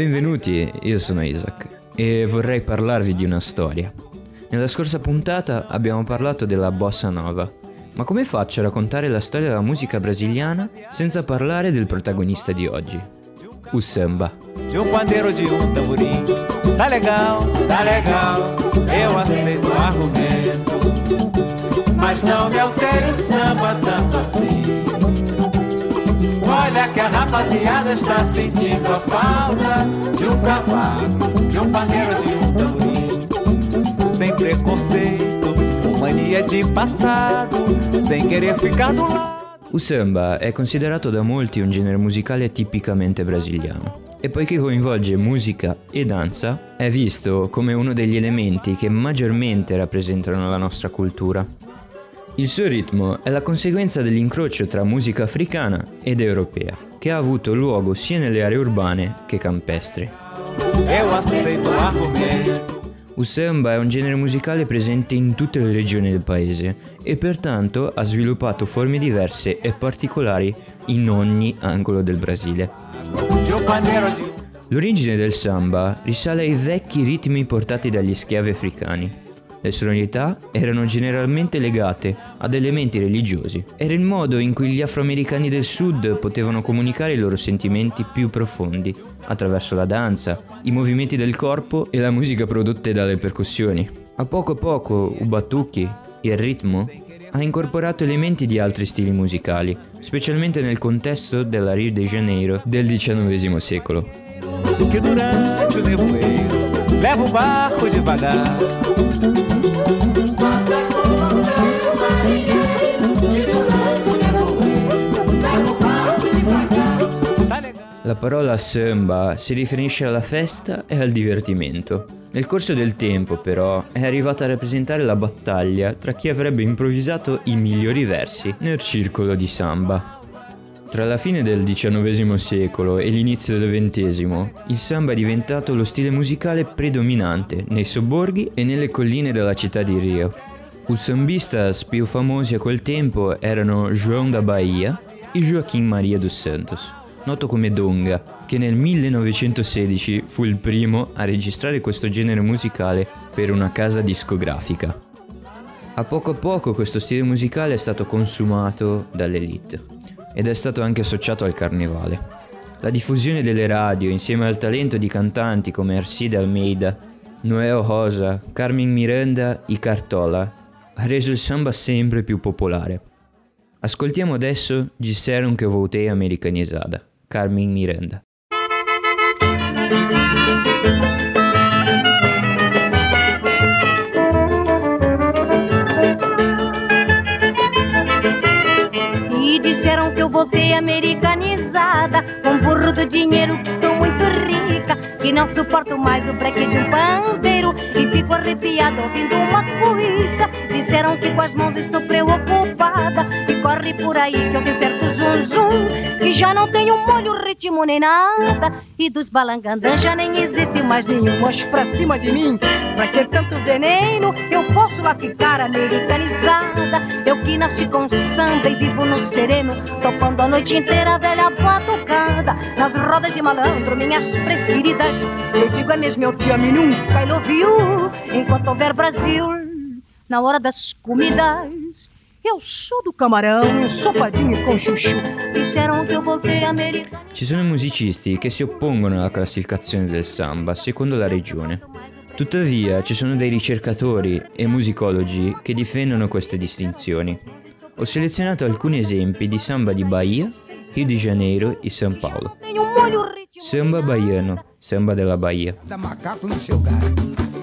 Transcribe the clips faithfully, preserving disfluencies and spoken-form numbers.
Benvenuti, io sono Isaac e vorrei parlarvi di una storia. Nella scorsa puntata abbiamo parlato della bossa nova, ma come faccio a raccontare la storia della musica brasiliana senza parlare del protagonista di oggi, o samba? De um pandeiro de um tamborim, tá legal, tá legal, eu aceito o argumento, mas não me altere o samba tanto assim. Olha que a rapaziada está sentindo a falta de um cavaco, de um pandeiro de um tamborim, sem preconceito, mania de passado, sem querer ficar do lado. O samba è considerato da molti un genere musicale tipicamente brasiliano e poiché coinvolge musica e danza, è visto come uno degli elementi che maggiormente rappresentano la nostra cultura. Il suo ritmo è la conseguenza dell'incrocio tra musica africana ed europea, che ha avuto luogo sia nelle aree urbane che campestri. O samba è un genere musicale presente in tutte le regioni del paese e pertanto ha sviluppato forme diverse e particolari in ogni angolo del Brasile. L'origine del samba risale ai vecchi ritmi portati dagli schiavi africani. Le sonorità erano generalmente legate ad elementi religiosi. Era il modo in cui gli afroamericani del sud potevano comunicare i loro sentimenti più profondi, attraverso la danza, i movimenti del corpo e la musica prodotte dalle percussioni. A poco a poco, il batuque, il ritmo, ha incorporato elementi di altri stili musicali, specialmente nel contesto della Rio de Janeiro del diciannovesimo secolo. Que durante o nevoeiro leva o barco devagar. La parola samba si riferisce alla festa e al divertimento. Nel corso del tempo, però, è arrivata a rappresentare la battaglia tra chi avrebbe improvvisato i migliori versi nel circolo di samba. Tra la fine del diciannovesimo secolo e l'inizio del ventesimo, il samba è diventato lo stile musicale predominante nei sobborghi e nelle colline della città di Rio. I sambistas più famosi a quel tempo erano João da Bahia e Joaquim Maria dos Santos, noto come Donga, che nel millenovecentosedici fu il primo a registrare questo genere musicale per una casa discografica. A poco a poco questo stile musicale è stato consumato dall'elite ed è stato anche associato al carnevale. La diffusione delle radio insieme al talento di cantanti come Arcide Almeida, Noel Rosa, Carmen Miranda e Cartola ha reso il samba sempre più popolare. Ascoltiamo adesso Disseram que eu voltei americanizada, Carmen Miranda. E disseram que eu voltei americanizada, com burro do dinheiro que estou muito rica, que não suporto mais o breque de um pandeiro e fico arrepiada ouvindo uma cuíca. Disseram que com as mãos estou preocupada e corre por aí que eu sei certo zum zum, que já não tenho molho, ritmo nem nada, e dos balangandãs já nem existe mais nenhum. Mocho pra cima de mim, pra que tanto veneno? Eu posso lá ficar americanizada, eu que nasci com samba e vivo no sereno, topando a noite inteira a velha batucada, nas rodas de malandro, minhas preferidas. Eu digo é mesmo, eu te amo e nunca I love you, enquanto houver Brasil na hora das comidas. Eu sou do camarão, sopadinho com chuchu. Disseram che eu voltei americana. Ci sono musicisti che si oppongono alla classificazione del samba secondo la regione. Tuttavia ci sono dei ricercatori e musicologi che difendono queste distinzioni. Ho selezionato alcuni esempi di samba di Bahia, Rio de Janeiro e São Paulo. Samba baiano, samba della Bahia. Da macaco no seu galho.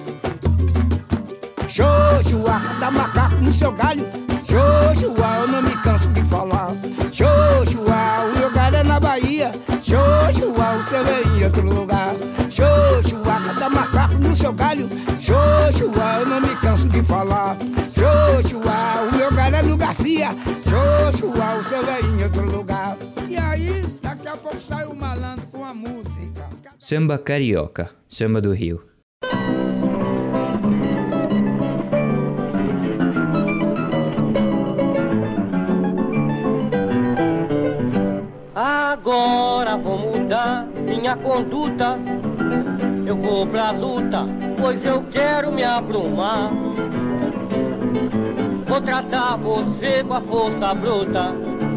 Xoxua, da macaco no seu galho. Xoxua, eu não me canso de falar. Xoxua, o meu galho é na Bahia. Xoxua, o seu é em outro lugar. Xoxua, da macaco no seu galho. Xoxua, eu não me canso de falar. Xoxua, o meu galho é no Garcia. Xoxua, o seu é em outro lugar. E aí, daqui a pouco sai o malandro com a música. Samba carioca, samba do Rio. Agora vou mudar minha conduta, vou pra luta, pois eu quero me aprumar. Vou tratar você com a força bruta,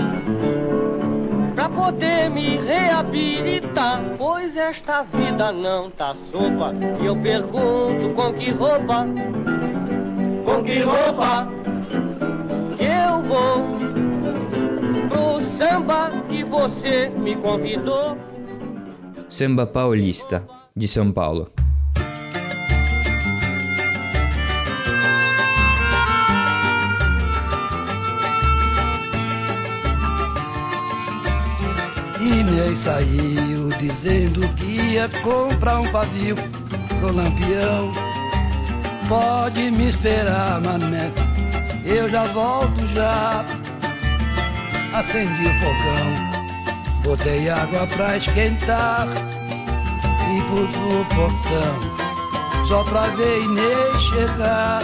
pra poder me reabilitar, pois esta vida não tá sopa. E eu pergunto, com que roupa, com que roupa que eu vou pro samba que você me convidou? Samba Paulista, de São Paulo. Inês saiu dizendo que ia comprar um pavio pro Lampião. Pode me esperar, mané, eu já volto já. Acendi o fogão, botei água pra esquentar e fui pro portão só pra ver Inês chegar.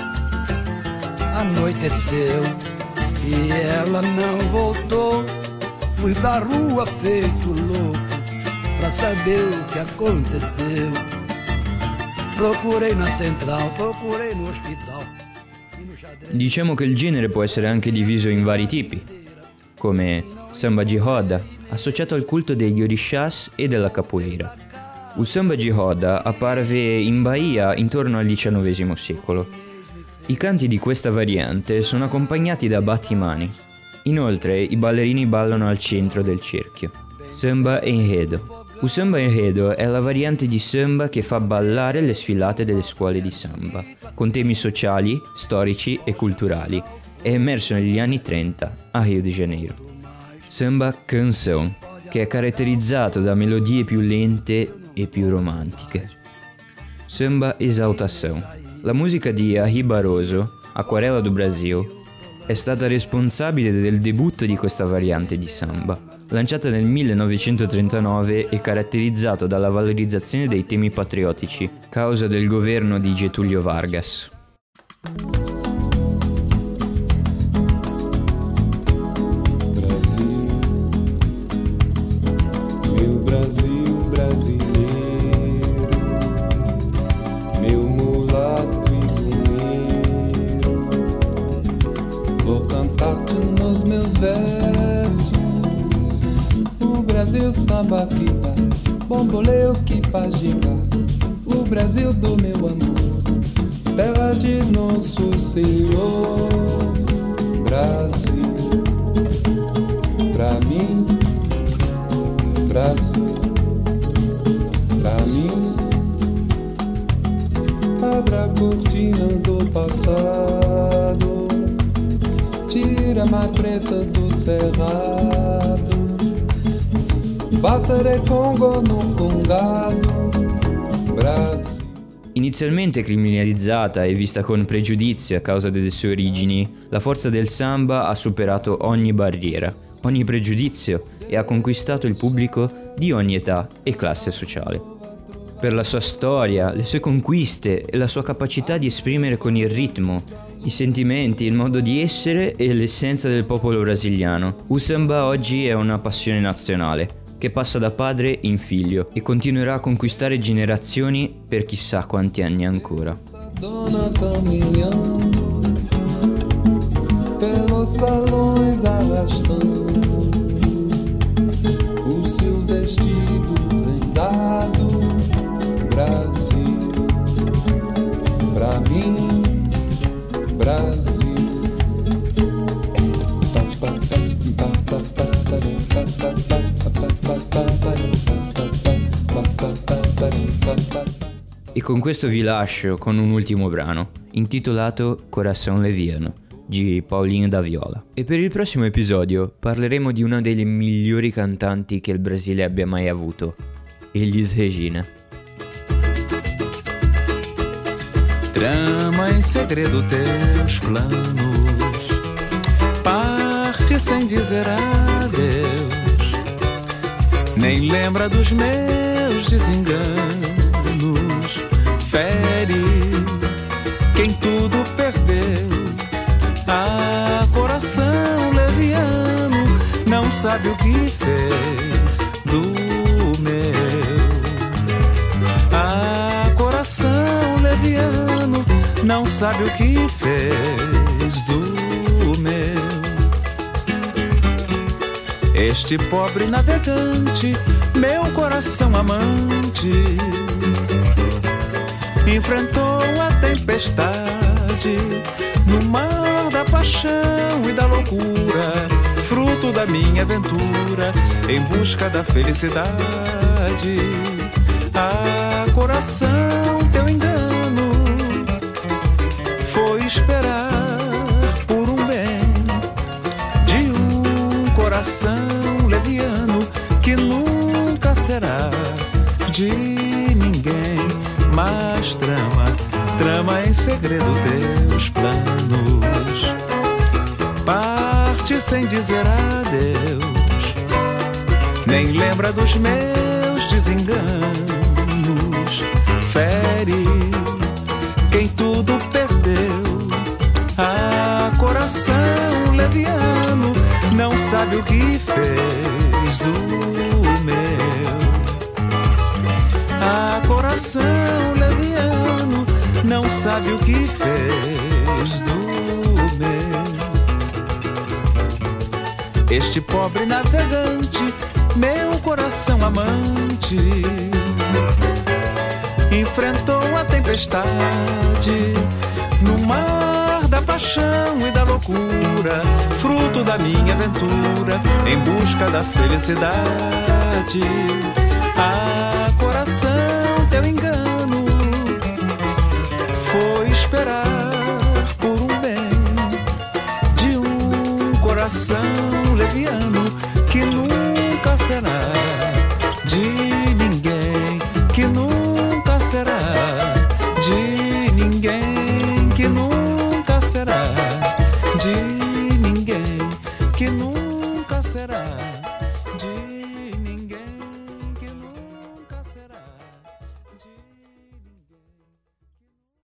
Anoiteceu e ela não voltou. Fui pra rua feito louco pra saber o que aconteceu. Procurei na central, procurei no hospital. Diciamo che il genere può essere anche diviso in vari tipi, come samba de roda, associato al culto degli orishas e della capoeira. Il samba de roda apparve in Bahia intorno al diciannovesimo secolo. I canti di questa variante sono accompagnati da battimani. Inoltre i ballerini ballano al centro del cerchio. Samba enredo. Il samba enredo è la variante di samba che fa ballare le sfilate delle scuole di samba, con temi sociali, storici e culturali. È emerso negli anni trenta a Rio de Janeiro. Samba canção, che è caratterizzato da melodie più lente e più romantiche. Samba exaltação. La musica di Ari Barroso, Aquarela do Brasil, è stata responsabile del debutto di questa variante di samba, lanciata nel millenovecentotrentanove e caratterizzato dalla valorizzazione dei temi patriottici, causa del governo di Getúlio Vargas. Brasil, meu Brasil brasileiro, meu mulato vou cantar-te nos meus versos. O Brasil samba que dá, bomboleu que faz girar. O Brasil do meu amor, terra de nosso Senhor. Brasil, pra mim, Brasil, pra mim. Abra a cortina do passado, tira a má preta do cerrado, battere Congo no congado, Brasil. Inizialmente criminalizzata e vista con pregiudizio a causa delle sue origini, la forza del samba ha superato ogni barriera, ogni pregiudizio e ha conquistato il pubblico di ogni età e classe sociale. Per la sua storia, le sue conquiste e la sua capacità di esprimere con il ritmo i sentimenti, il modo di essere e l'essenza del popolo brasiliano, il samba oggi è una passione nazionale che passa da padre in figlio e continuerà a conquistare generazioni per chissà quanti anni ancora. Dona caminhando pelos salões arrastando o seu vestido prendado. Brasil, pra mim, Brasil. E con questo vi lascio con un ultimo brano, intitolato Coração Leviano, di Paulinho da Viola. E per il prossimo episodio parleremo di una delle migliori cantanti che il Brasile abbia mai avuto, Elis Regina. Trama em segredo teus planos, parte sem dizer adeus, nem lembra dos meus desenganos, fere quem tudo perdeu. Ah, coração leviano, não sabe o que fez do meu. Ah, leviano, não sabe o que fez do meu. Este pobre navegante, meu coração amante, enfrentou a tempestade no mar da paixão e da loucura, fruto da minha aventura em busca da felicidade. Ah, coração, teu engano foi esperar por um bem de um coração leviano que nunca será de ninguém, mas trama, trama em segredo teus planos. Parte sem dizer adeus, nem lembra dos meus desenganos. Fere quem tudo perdeu. Ah, coração leviano, não sabe o que fez do meu. Ah, coração leviano, não sabe o que fez do meu. Este pobre navegante, meu coração amante, enfrentou a tempestade no mar da paixão e da loucura, fruto da minha aventura em busca da felicidade. Ah, coração, teu engano foi esperar por um bem de um coração leviano que nunca será de ninguém, que nunca será de ninguém, que nunca será de